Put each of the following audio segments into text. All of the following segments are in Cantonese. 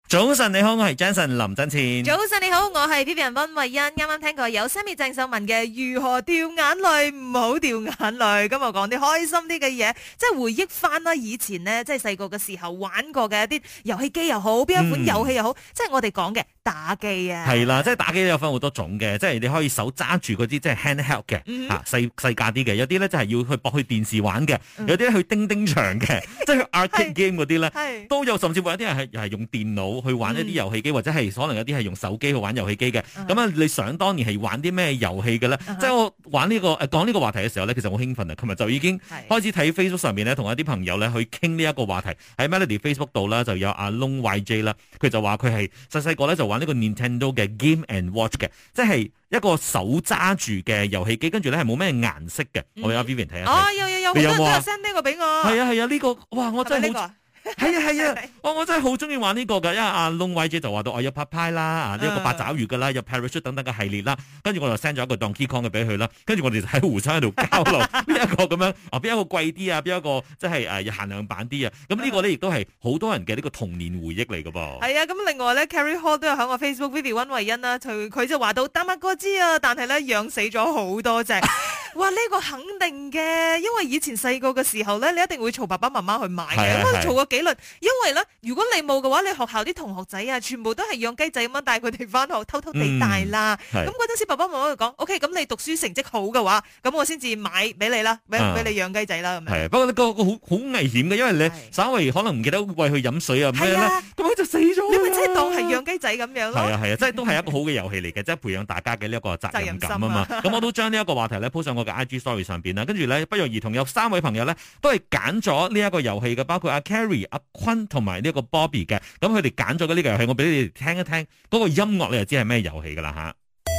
早晨你好，我係 Jason 林振前。 早晨你好，我係 Vivian 溫慧欣。啱啱聽過有 Sammy 鄭秀文嘅如何掉眼淚，唔好掉眼淚。今日講啲開心啲嘅嘢，即係回憶翻啦，以前呢，即係細個嘅時候玩過嘅一啲遊戲機又好，邊一款遊戲又好，即係我哋講嘅打機啊。 係啦，即係打機有分好多種嘅，即係你可以手揸住嗰啲即係 handheld 嘅，細架啲嘅，有啲咧就係要去駁去電視玩嘅，有啲去叮叮場嘅，即係去 arcade game 嗰啲咧，都有，甚至乎有啲人係用電腦去玩一啲遊戲機，或者係可能有啲係用手機去玩遊戲機嘅。咁啊，你想當年係玩啲咩遊戲嘅咧？即係我玩呢個講呢個話題嘅時候咧，其實好興奮啊！琴日就已經開始睇 Facebook 上面咧，同一啲朋友咧去傾呢一個話題。喺 Melody Facebook 度啦，就有阿 Long YJ 啦，佢就話佢係細細個咧就玩呢個 Nintendo 嘅 Game and Watch 嘅，即係一個手揸住嘅遊戲機，跟住咧係冇咩顏色嘅。我哋阿 Vivian 睇下。 哦，有，好多人都有 send 呢個俾我。 係啊，呢個哇，我真係好。係啊，我真係好中意玩呢個噶，因為阿 Long YJ 就話到我有 Popeye 啦，呢個八爪魚噶啦，有 Parachute 等等嘅系列啦，跟住我就 send 咗一個 Donkey Kong 嘅俾佢啦，跟住我哋就喺互相喺度交流邊一個咁樣，邊一個貴啲啊，邊一個即係限量版啲啊，咁呢個咧亦都係好多人嘅呢個童年回憶嚟噶噃。係啊，咁另外咧 Carrie Hall 都有喺我 Facebook Vivi 溫慧欣啦，佢就話到打乜哥知啊，但係咧養死咗好多隻。哇！呢個肯定嘅，因為以前細個嘅時候咧，你一定會嘈爸爸媽媽去買嘅，咁嘈過幾輪。因為咧，如果你冇嘅話，你學校啲同學仔啊，全部都係養雞仔咁樣帶佢哋翻學，偷偷地帶啦。咁嗰陣時，爸爸媽媽就講：OK，咁你讀書成績好嘅話，咁我先至買俾你啦，俾你養雞仔啦。咁樣。係，不過呢個好危險嘅，因為你稍微可能唔記得餵佢飲水啊咩咧，咁佢就死咗。你咪真係當係養雞仔咁樣咯。係啊，即係都係一個好嘅遊戲嚟嘅，即係培養大家嘅呢一個責任感啊嘛。咁我都將呢一個話題咧鋪上我嘅 IG Story 上邊啦，跟住咧不約而同有3位朋友咧都係揀咗呢一個遊戲嘅，包括阿 Carrie、阿坤同埋呢個 Bobby 嘅，咁佢哋揀咗嘅呢個遊戲，我俾你哋聽一聽嗰個音樂，你就知係咩遊戲噶啦吓。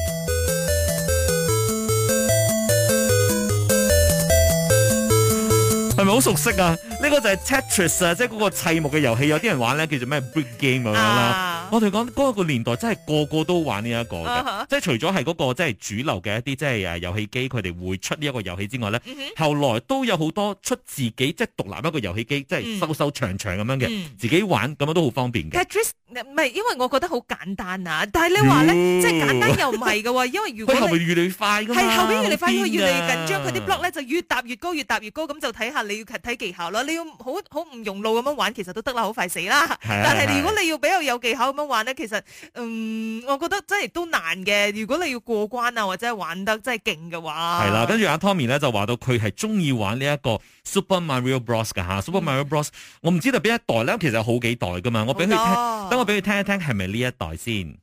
係咪好熟悉啊？呢個就係 Tetris 啊，即係嗰個砌木嘅遊戲，有啲人玩咧叫做咩 Brick Game 咁樣啦。我哋講嗰個年代真係個個都玩呢一個嘅，即係除咗係嗰個即係主流嘅一啲即係遊戲機，佢哋會出呢一個遊戲之外咧，後來都有好多出自己即係獨立一個遊戲機，即係收長長咁樣嘅，自己玩咁樣都好方便嘅。Tetris 唔係，因為我覺得好簡單啊，但係你話咧，即係簡單又唔係嘅喎，因為如果佢後邊越嚟越快㗎嘛，係後邊越嚟快，佢越嚟越緊張，佢啲 block 咧就越搭越高，越搭越高，咁就睇下你要睇技巧啦。你要好唔用腦咁樣玩，其實都得啦，好快死啦。但係如果你要比較有技巧咁樣玩咧，其實我覺得真係都難嘅。如果你要過關啊，或者係玩得真係勁嘅話，係啦。 跟住阿 Tommy 咧就話到佢係中意玩呢一個 Super Mario Bros 㗎嚇，Super Mario Bros 我唔知道邊一代咧，其實有好幾代㗎嘛。我俾佢聽，等我俾佢聽一聽，係咪呢一代先？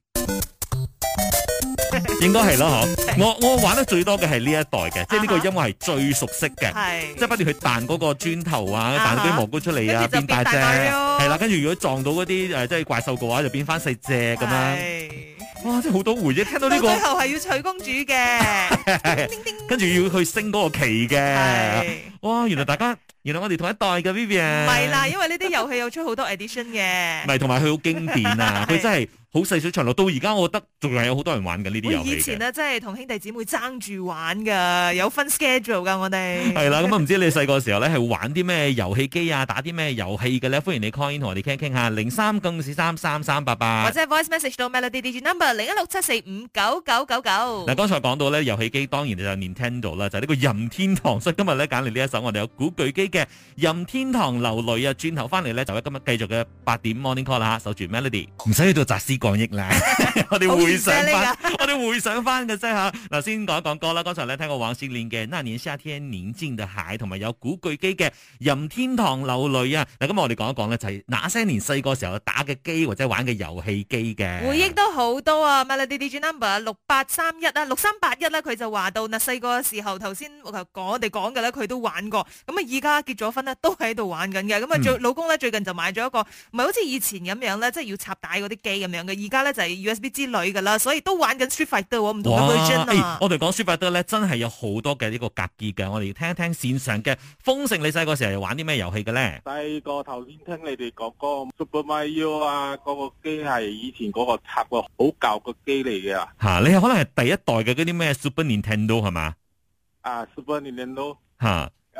應該係咯，我玩得最多嘅係呢一代嘅，即係呢個音樂係最熟悉嘅，即係不斷去彈嗰個磚頭啊，彈嗰啲蘑菇出嚟啊，變大隻，係啦，跟住如果撞到嗰啲即係怪獸嘅話，就變翻細隻咁樣。哇！真係好多回憶，聽到呢個最後係要娶公主嘅， 跟住要去升嗰個旗嘅。哇！原來我哋同一代嘅 Vivian。 唔係啦，因為呢啲遊戲有出好多 edition 嘅。 唔係，同埋佢好經典啊！佢真係好細水長流，到而家我覺得仲係有好多人玩緊呢啲遊戲嘅。 以前呢，真係同兄弟姊妹爭住玩㗎，有分 schedule 㗎，我哋。 係啦，咁唔知你細個時候咧係玩啲咩遊戲機啊，打啲咩遊戲嘅咧？歡迎你 call in 同我哋傾下，03-943-3388， 或者 voice message 到 Melody Digi Number 0167459999。 嗱，剛才講到咧遊戲機，當然就係 Nintendo 啦，就係呢個任天堂。所以今日咧揀嚟呢一首，我哋有古巨基嘅任天堂流淚啊！轉頭翻嚟咧，就喺今日繼續嘅8點 Morning Call 啦嚇，守住 Melody， 唔使去到集思廣益啦，我哋回想翻嘅啫嚇。嗱，先講一講歌啦。剛才咧聽過黃先蓮嘅《那年夏天寧靜的海》，同埋有古巨基嘅任天堂流淚啊！嗱，咁我哋講一講咧，就係那些年細個時候打嘅機或者玩嘅遊戲機嘅回憶都好多啊！Melody Digi Number 6831啊，6381啦，佢就話到嗱，細個嘅時候頭先我哋講嘅咧，佢都玩過。咁啊，而家結咗婚咧，都喺度玩緊嘅。咁啊，老公咧最近就買咗一個，唔係好似以前咁樣咧，即係要插帶嗰啲機咁樣嘅。而家咧就係 USB 之類噶啦，所以都玩緊 Street Fighter 唔同嘅 version 啊。 我哋講 Street Fighter 咧，真係有好多嘅呢個格機嘅。我哋聽一聽線上嘅豐盛，你細個時候又玩啲咩遊戲嘅咧？ 細個頭先聽你哋講嗰個 Super Mario 啊，嗰個機係以前嗰個插個好舊嘅機嚟嘅。 嚇，你係可能係第一代嘅嗰啲咩 Super Nintendo 係嘛？ 啊 ，Super Nintendo 嚇。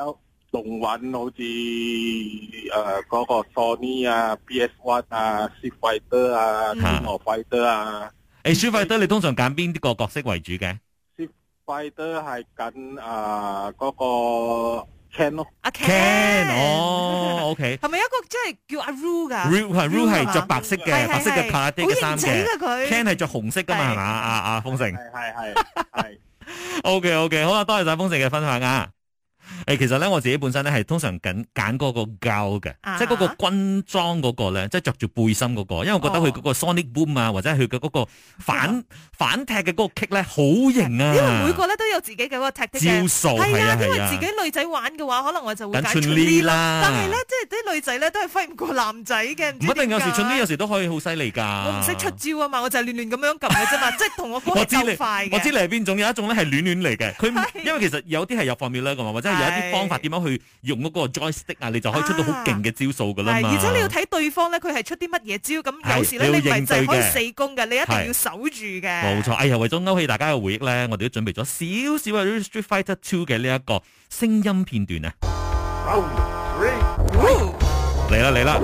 動玩好似嗰個 Sony 啊、PS1 啊、Street Fighter 啊、King of Fighter 啊。 Street Fighter 你通常揀邊啲個角色為主嘅？ Street Fighter 係緊嗰個 Ken 咯。 阿 Ken 哦，OK。 係咪一個即係叫阿 Ru 噶 ？Ru 係着白色嘅，白色嘅卡拉爹嘅衫嘅。 佢 Ken 係着紅色噶嘛，係嘛？阿豐盛。 係。 OK，好啦，多謝晒豐盛嘅分享啊！其實咧我自己本身咧係通常揀嗰個膠嘅，即係嗰個軍裝嗰個咧，即係着住背心嗰個，因為我覺得佢嗰個 Sonic Boom 啊，或者係佢嘅嗰個反踢嘅嗰個 kick 咧好型啊！ 因為每個咧都有自己嘅嗰個踢的招數，係啊， 因為自己女仔玩嘅話，可能我就會揀 Chun-Li 啦。 但係咧，即係啲女仔咧都係揮唔過男仔嘅，唔一定有時 Chun-Li 有時都可以好犀利㗎。 我唔識出招啊嘛，我就係亂咁樣撳嘅啫嘛，即係同我哥係鬥快嘅。 我知你係邊種，有一種咧係亂嚟嘅，佢因為其實有啲係有 formula 㗎嘛，或者係有一啲方法點樣去用嗰個 joystick 啊，你就可以出到好勁嘅招數噶啦嘛。 而且你要睇對方咧，佢係出啲乜嘢招，咁有時咧你唔係就係可以死攻嘅，你一定要守住嘅。 冇錯，哎呀，為咗勾起大家嘅回憶咧，我哋都準備咗少少嘅 Street Fighter 2嘅呢一個聲音片段啊。嚟啦！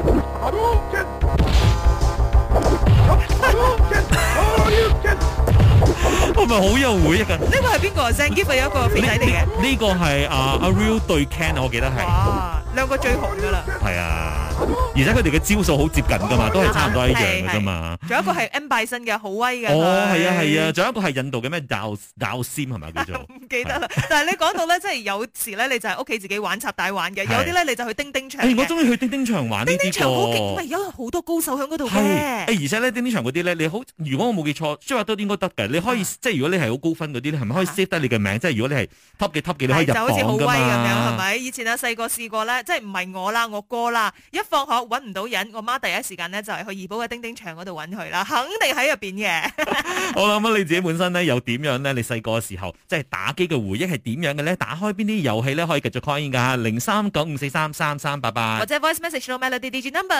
係咪好有回憶啊？ 呢個係邊個？Zangief 係一個飛仔嚟嘅。 呢個係阿 Real 對 Ken， 我記得係。 哇，兩個最紅噶啦。 係啊，而且佢哋嘅招數好接近噶嘛，都係差唔多一樣嘅啫嘛。 仲有一個係 M 拜身嘅，好威嘅。 哦，係啊，仲有一個係印度嘅咩教仙係咪叫做？ 唔記得啦。但係你講到咧，即係有時咧，你就係屋企自己玩插帶玩嘅，有啲咧你就去叮叮場。 我中意去叮叮場玩呢啲。叮叮場好勁，有好多高手喺嗰度嘅。 而且咧叮叮場嗰啲咧，你好，如果我冇記錯，即係話都應該得嘅。你可以即係如果你係好高分嗰啲咧，係咪可以 save 得你嘅名？即係如果你係 top 幾，你可以入榜㗎嘛。就好似好威咁樣，係咪？ 以前啊細個試過咧，即係唔係我啦，我哥啦，一放學揾唔到人，我媽第一時間咧就係去怡保嘅叮叮場嗰度揾佢啦，肯定喺入邊嘅。 好啦，咁你自己本身咧又點樣咧？你細個嘅時候即係打機嘅回憶係點樣嘅咧？打開邊啲遊戲咧可以繼續 call in 㗎？0395433388 或者 voice message 到 Melody DJ number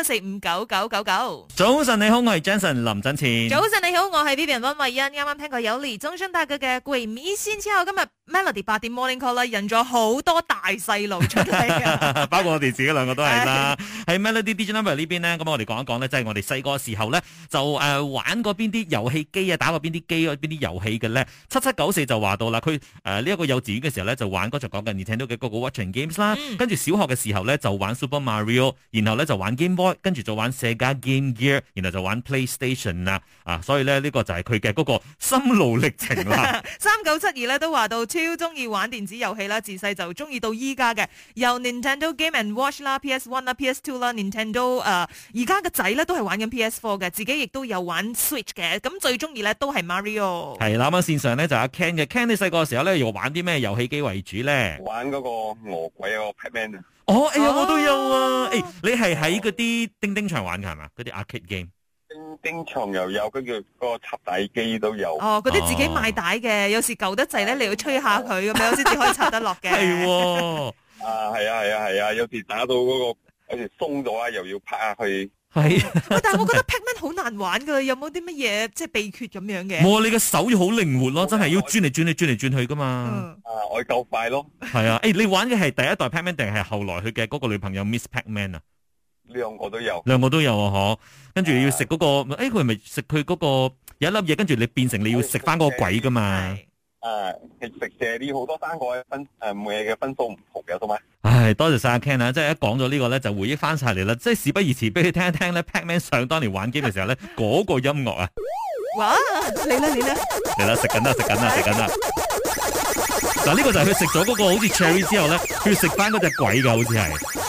0167459999。 早晨你好，我係 Jason 林振前。 早晨你好，我係 Vivian 溫慧欣。啱啱聽過有李宗盛大哥嘅《鬼迷心竅》，今日 Melody 8點 Morning Call 啦，引咗好多大細路出嚟啊！ 包括我哋自己兩個都係啦。喺 Melody DJ number 呢邊呢，咁我哋講一講咧，即係我哋細個時候咧就玩過邊啲遊戲機啊，打過邊啲機啊，邊啲遊戲嘅咧。7794就話到啦，佢呢一個幼稚園嘅時候咧就玩嗰就講緊 Nintendo 嘅嗰個 Watching Games 啦，跟住小學嘅時候咧就玩 Super Mario， 然後咧就玩 Game Boy， 跟住就玩 Sega Game Gear， 然後就玩 PlayStation 啦。所以咧呢個就係佢嘅嗰個心路歷程啦。 3972咧都話到超中意玩電子遊戲啦，自細就中意到依家嘅，由 Nintendo Game and Watch 啦、PS1 啦、PS2 啦、Nintendo 而家嘅仔咧都係玩緊 PS4 嘅，自己亦都有玩 Switch 嘅，咁最中意咧都係 Mario。係啦，咁線上咧就阿 Ken 嘅 Ken，你細個嘅時候咧又玩啲咩遊戲機為主咧？ 玩嗰個餓鬼嗰個 Pac-Man 啊！ 我都有啊！你係喺嗰啲叮叮場玩嘅係嘛？嗰啲 arcade game。 叮叮場又有，跟住嗰個插帶機都有。 嗰啲自己買帶嘅，有時舊得滯咧，你要吹下佢咁樣先至可以插得落嘅。 係喎。係啊，有時打到嗰個有時鬆咗啊，又要拍下去。 係。 但係我覺得 Pac-Man 好難玩噶，有冇啲乜嘢即係秘訣咁樣嘅？ 冇，你嘅手要好靈活咯，真係要轉嚟轉去噶嘛。 我夠快咯。 係啊，你玩嘅係第一代 Pac-Man 定係後來佢嘅嗰個女朋友 Miss Pac-Man 啊？ 兩個都有， 啊，嗬！跟住要食嗰個，佢係咪食佢嗰個有一粒嘢？跟住你變成你要食翻嗰個鬼噶嘛？ 食蛇啲好多單個每日嘅分數唔同嘅，同埋。 唉，多謝晒阿 Ken 啊！即係一講咗呢個咧，就回憶翻晒嚟啦。即係事不宜遲，俾你聽一聽咧 Pac-Man 上當年玩機嘅時候咧，嗰個音樂啊！ 哇！嚟啦！ 食緊啦！嗱，呢個就係佢食咗嗰個好似 cherry 之後咧，佢要食翻嗰隻鬼噶，好似係。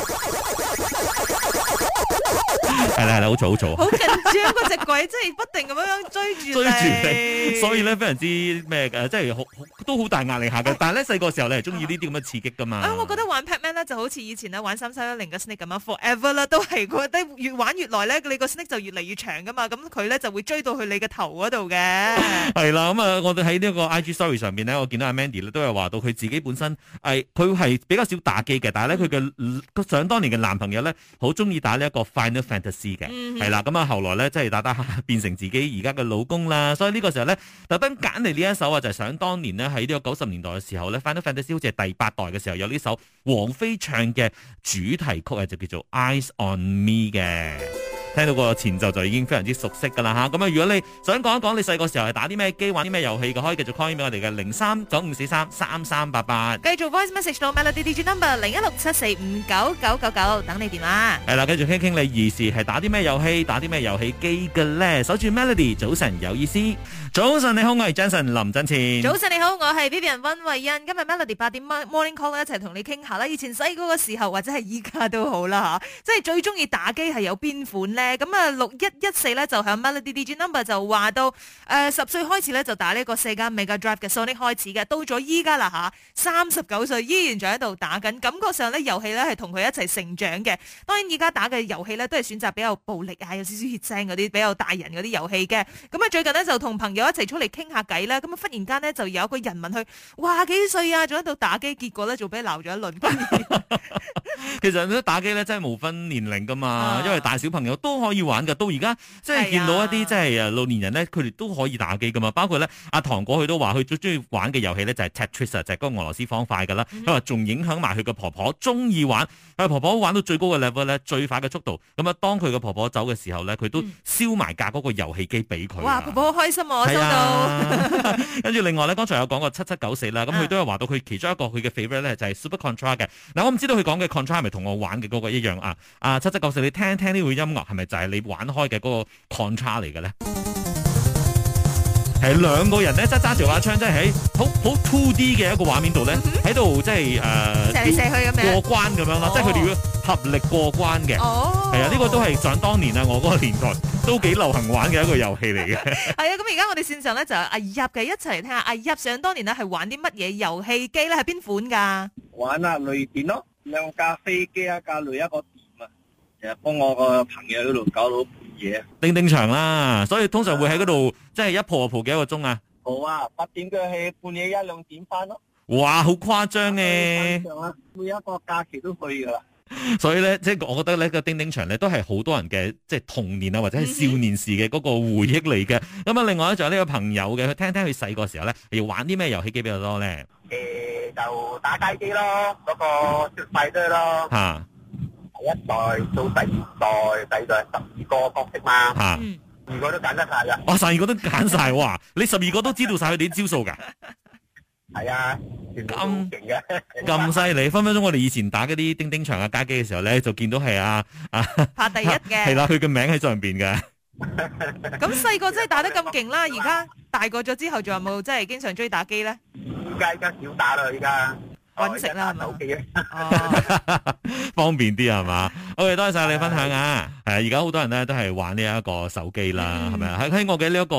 係啦，好嘈。 好緊張嗰隻鬼，真係不停咁樣追住你， 所以咧非常之咩嘅，即係都好大壓力下嘅。但係咧細個時候你係中意呢啲咁嘅刺激噶嘛？ 我覺得玩 Pac-Man 咧就好似以前咧玩3310嘅 Snake 咁樣 ，forever 啦，都係覺得越玩越耐咧，你個 Snake 就越嚟越長噶嘛。咁佢咧就會追到去你嘅頭嗰度嘅。係啦，咁我哋喺呢個 IG Story 上邊咧，我見到阿 Mandy 咧都有話到佢自己本身佢係比較少打機嘅，但係咧佢嘅想當年嘅男朋友咧好中意打呢一個 Final Fantasy 嘅，係啦，咁啊後來咧即係打變成自己而家嘅老公啦，所以呢個時候咧特登揀嚟呢一首啊，就係想當年呢係喺呢個90年代嘅時候咧，Final Fantasy 好似係第8代嘅時候有呢首王菲唱嘅主題曲啊，就叫做 Eyes on Me 嘅。聽到個前奏就已經非常之熟悉噶啦吓，咁啊如果你想講一講你細個時候係打啲咩機、玩啲咩遊戲嘅，可以繼續 call 俾我哋嘅0395433388， 繼續 voice message 到 Melody DJ number 0167459999，等你電話。 係啦，繼續傾傾你兒時係打啲咩遊戲、打啲咩遊戲機嘅咧？守住 Melody，早晨有意思。早晨你好，我係 Jason 林振前。 早晨你好，我係 Vivian 溫慧欣。今日 Melody 8點 Morning Call 一齊同你傾下啦。以前細個嘅時候或者係依家都好啦吓，即係最中意打機係有邊款咧？咁啊6114咧就響 Melody DJ number 就話到10歲開始咧就打呢個世嘉 Mega Drive 嘅 Sonic 開始嘅，到咗依家啦吓，39歲依然仲喺度打緊，感覺上咧遊戲咧係同佢一齊成長嘅。當然而家打嘅遊戲咧都係選擇比較暴力啊，有少少血腥嗰啲比較大人嗰啲遊戲嘅。咁啊最近呢，就同朋友一齊出嚟傾下偈啦，咁啊忽然間呢，就有一個人問佢，哇幾歲啊，仲喺度打機，結果咧就俾鬧咗一輪。 其實咧打機咧真係無分年齡噶嘛，因為大小朋友都可以玩噶。到而家即係見到一啲即係老年人咧，佢哋都可以打機噶嘛。包括咧阿糖果佢都話佢最中意玩嘅遊戲咧就係 Tetris 就係嗰個俄羅斯方塊噶啦。佢話仲影響埋佢嘅婆婆中意玩，佢婆婆玩到最高嘅 level 咧，最快嘅速度。咁啊當佢嘅婆婆走嘅時候咧，佢都燒埋架嗰個遊戲機俾佢。 哇，婆婆好開心我收到。 跟住另外咧，剛才有講過7794啦，咁佢都有話到佢其中一個佢嘅 favorite 咧就係 Super Contra 嘅。嗱我唔知道佢講嘅 Contra 係咪同我玩嘅嗰個一樣啊？7794，你聽聽呢個音樂係咪就係你玩開嘅嗰個 Contra 嚟嘅咧？係兩個人咧，揸住把槍，即係喺好 2D 嘅一個畫面度咧，喺度即係射嚟射去咁樣過關咁樣啦，即係佢哋要合力過關嘅。係啊，呢個都係想當年啊，我嗰個年代都幾流行玩嘅一個遊戲嚟嘅。 係啊，咁而家我哋線上咧就有阿入嘅，一齊嚟聽下阿入想當年咧係玩啲乜嘢遊戲機咧？係邊款㗎？ 玩啊雷電咯，2架飛機，一架雷，一個電啊，成日幫我個朋友喺度搞到嘢。 叮叮場啦，所以通常會喺嗰度即係一蒲就蒲幾多個鐘啊？ 好啊，8點嘅去半夜1-2點翻咯。 哇，好誇張嘅！ 每一個假期都去噶啦。 所以咧，即係我覺得呢個叮叮場咧都係好多人嘅即係童年啊或者係少年時嘅嗰個回憶嚟嘅。咁啊，另外咧仲有呢個朋友嘅，佢聽聽佢細個時候咧，要玩啲咩遊戲機比較多咧？ 就打街機咯，嗰個雪塊堆咯。 嚇！ 第一代到第二代，第二代12個角色嘛。 嚇 ！12個都揀得晒㗎。 哇！12個都揀晒哇！你12個都知道晒佢哋啲招數㗎？ 係啊，咁勁嘅， 咁犀利！分分鐘我哋以前打嗰啲叮叮場啊街機嘅時候咧，就見到係拍第一嘅。 係啦，佢嘅名喺上邊嘅。 咁細個真係打得咁勁啦，而家大個咗之後，仲有冇真係經常追打機咧？ 而家少打啦，而家搵食啦，係嘛？ 手機方便啲係嘛？OK，多謝晒你分享啊！係啊，而家好多人咧都係玩呢一個手機啦，係咪啊？喺我嘅呢一個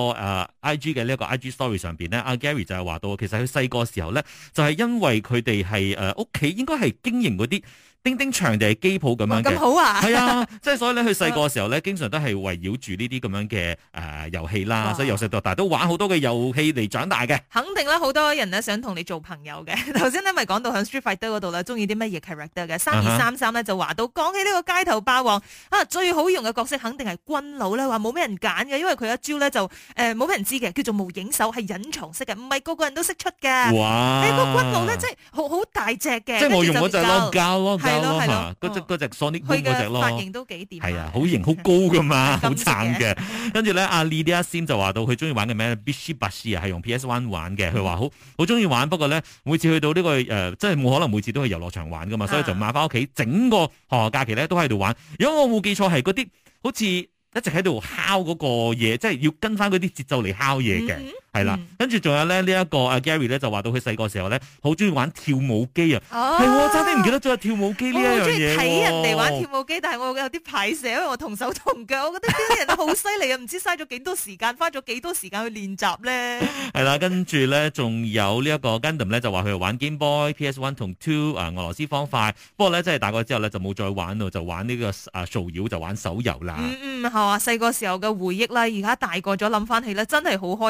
IG 嘅呢一個 IG Story 上邊咧，阿 Gary 就係話到，其實佢細個時候咧，就係因為佢哋係屋企應該係經營嗰啲叮叮場定係機鋪咁樣嘅。 咁好啊！ 係啊，即係所以咧，佢細個時候咧，經常都係圍繞住呢啲咁樣嘅遊戲啦，所以由細到大都玩好多嘅遊戲嚟長大嘅。 肯定啦，好多人咧想同你做朋友嘅。頭先咧咪講到喺 Street Fighter 嗰度啦，中意啲乜嘢 character 嘅？3233咧就話到，講起呢個街頭霸王啊，最好用嘅角色肯定係軍佬啦，話冇咩人揀嘅，因為佢一招咧就冇咩人知嘅，叫做無影手，係隱藏式嘅，唔係個個人都識出嘅。 哇！ 你個軍佬咧，即係好大隻嘅， 即係我用嗰隻咯，膠咯， 係咯， 嗰隻 Sonic 佢嗰隻咯， 髮型都幾掂。 係啊，好型好高噶嘛，好撐嘅。跟住咧，阿 Lydia Sim 就話到佢中意玩嘅咩 Bishi Bashi 啊，係用 PS1 玩嘅。佢話好中意玩，不過咧每次去到呢個即係冇可能每次都去遊樂場玩噶嘛，所以就買翻屋企，整個學校假期咧都喺度玩。如果我冇記錯，係嗰啲好似一直喺度敲嗰個嘢，即係要跟翻嗰啲節奏嚟敲嘢嘅。係啦，跟住仲有咧呢一個阿 Gary 咧就話到佢細個時候咧好中意玩跳舞機啊，係喎，差啲唔記得咗有跳舞機呢一樣嘢。我好中意睇人哋玩跳舞機，但係我有啲排斥，因為我同手同腳，我覺得呢啲人都好犀利啊，唔知嘥咗幾多時間，花咗幾多時間去練習咧。係啦，跟住咧仲有呢一個 Gundam 咧就話佢玩 Game Boy、PS1 同 Two 俄羅斯方塊，不過咧即係大個之後咧就冇再玩咯，就玩呢個掃擾就玩手遊啦。係啊，細個時候嘅回憶啦，而家大個咗諗翻起咧，真係好開心嘅。雖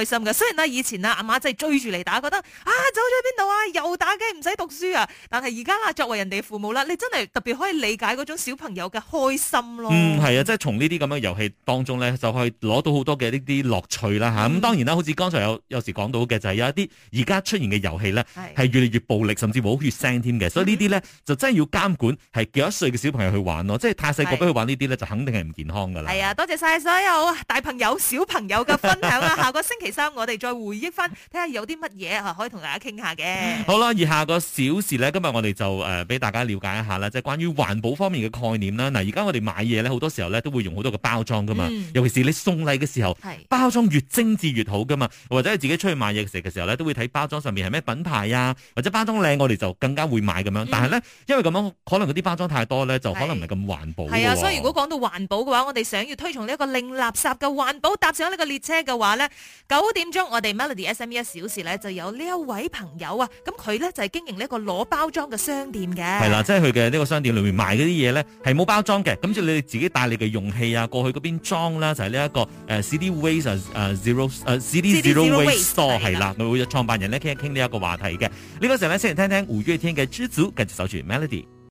然啦，以前啊阿媽真係追住嚟打，覺得走咗去邊度啊，又打機唔使讀書啊。但係而家啦，作為人哋父母啦，你真係特別可以理解嗰種小朋友嘅開心咯。 係啊，即係從呢啲咁嘅遊戲當中咧，就可以攞到好多嘅呢啲樂趣啦嚇。咁當然啦，好似剛才有時講到嘅就係有一啲而家出現嘅遊戲咧，係越嚟越暴力，甚至冇血腥添嘅。所以呢啲咧就真係要監管，係幾多歲嘅小朋友去玩咯。即係太細個俾佢玩呢啲咧，就肯定係唔健康噶啦。係啊，多謝晒所有大朋友、小朋友嘅分享啊！下個星期三我哋再回憶翻，睇下有啲乜嘢可以同大家傾下嘅。 好啦，而下個小時咧，今日我哋就俾大家了解一下啦，即係關於環保方面嘅概念啦。嗱，而家我哋買嘢咧，好多時候咧都會用好多個包裝噶嘛，尤其是你送禮嘅時候，包裝越精緻越好噶嘛。或者係自己出去買嘢食嘅時候咧，都會睇包裝上面係咩品牌啊，或者包裝靚，我哋就更加會買咁樣。但係咧，因為咁樣可能嗰啲包裝太多咧，就可能唔係咁環保。 係啊，所以如果講到環保嘅話，我哋想要推崇呢一個零垃圾嘅環保，搭上呢個列車嘅話咧，9點鐘我哋 Melody SME 1小時咧就有呢一位朋友啊，咁佢咧就係經營呢一個攞包裝嘅商店嘅。 係啦，即係佢嘅呢個商店裏面賣嗰啲嘢咧係冇包裝嘅，咁就你哋自己帶你嘅容器啊過去嗰邊裝啦，就係呢一個CD Waste CD Zero Waste Store 係啦，佢會有創辦人咧傾一傾呢一個話題嘅。呢個時候咧，先嚟聽聽5月天嘅《知足》，繼續守住 Melody。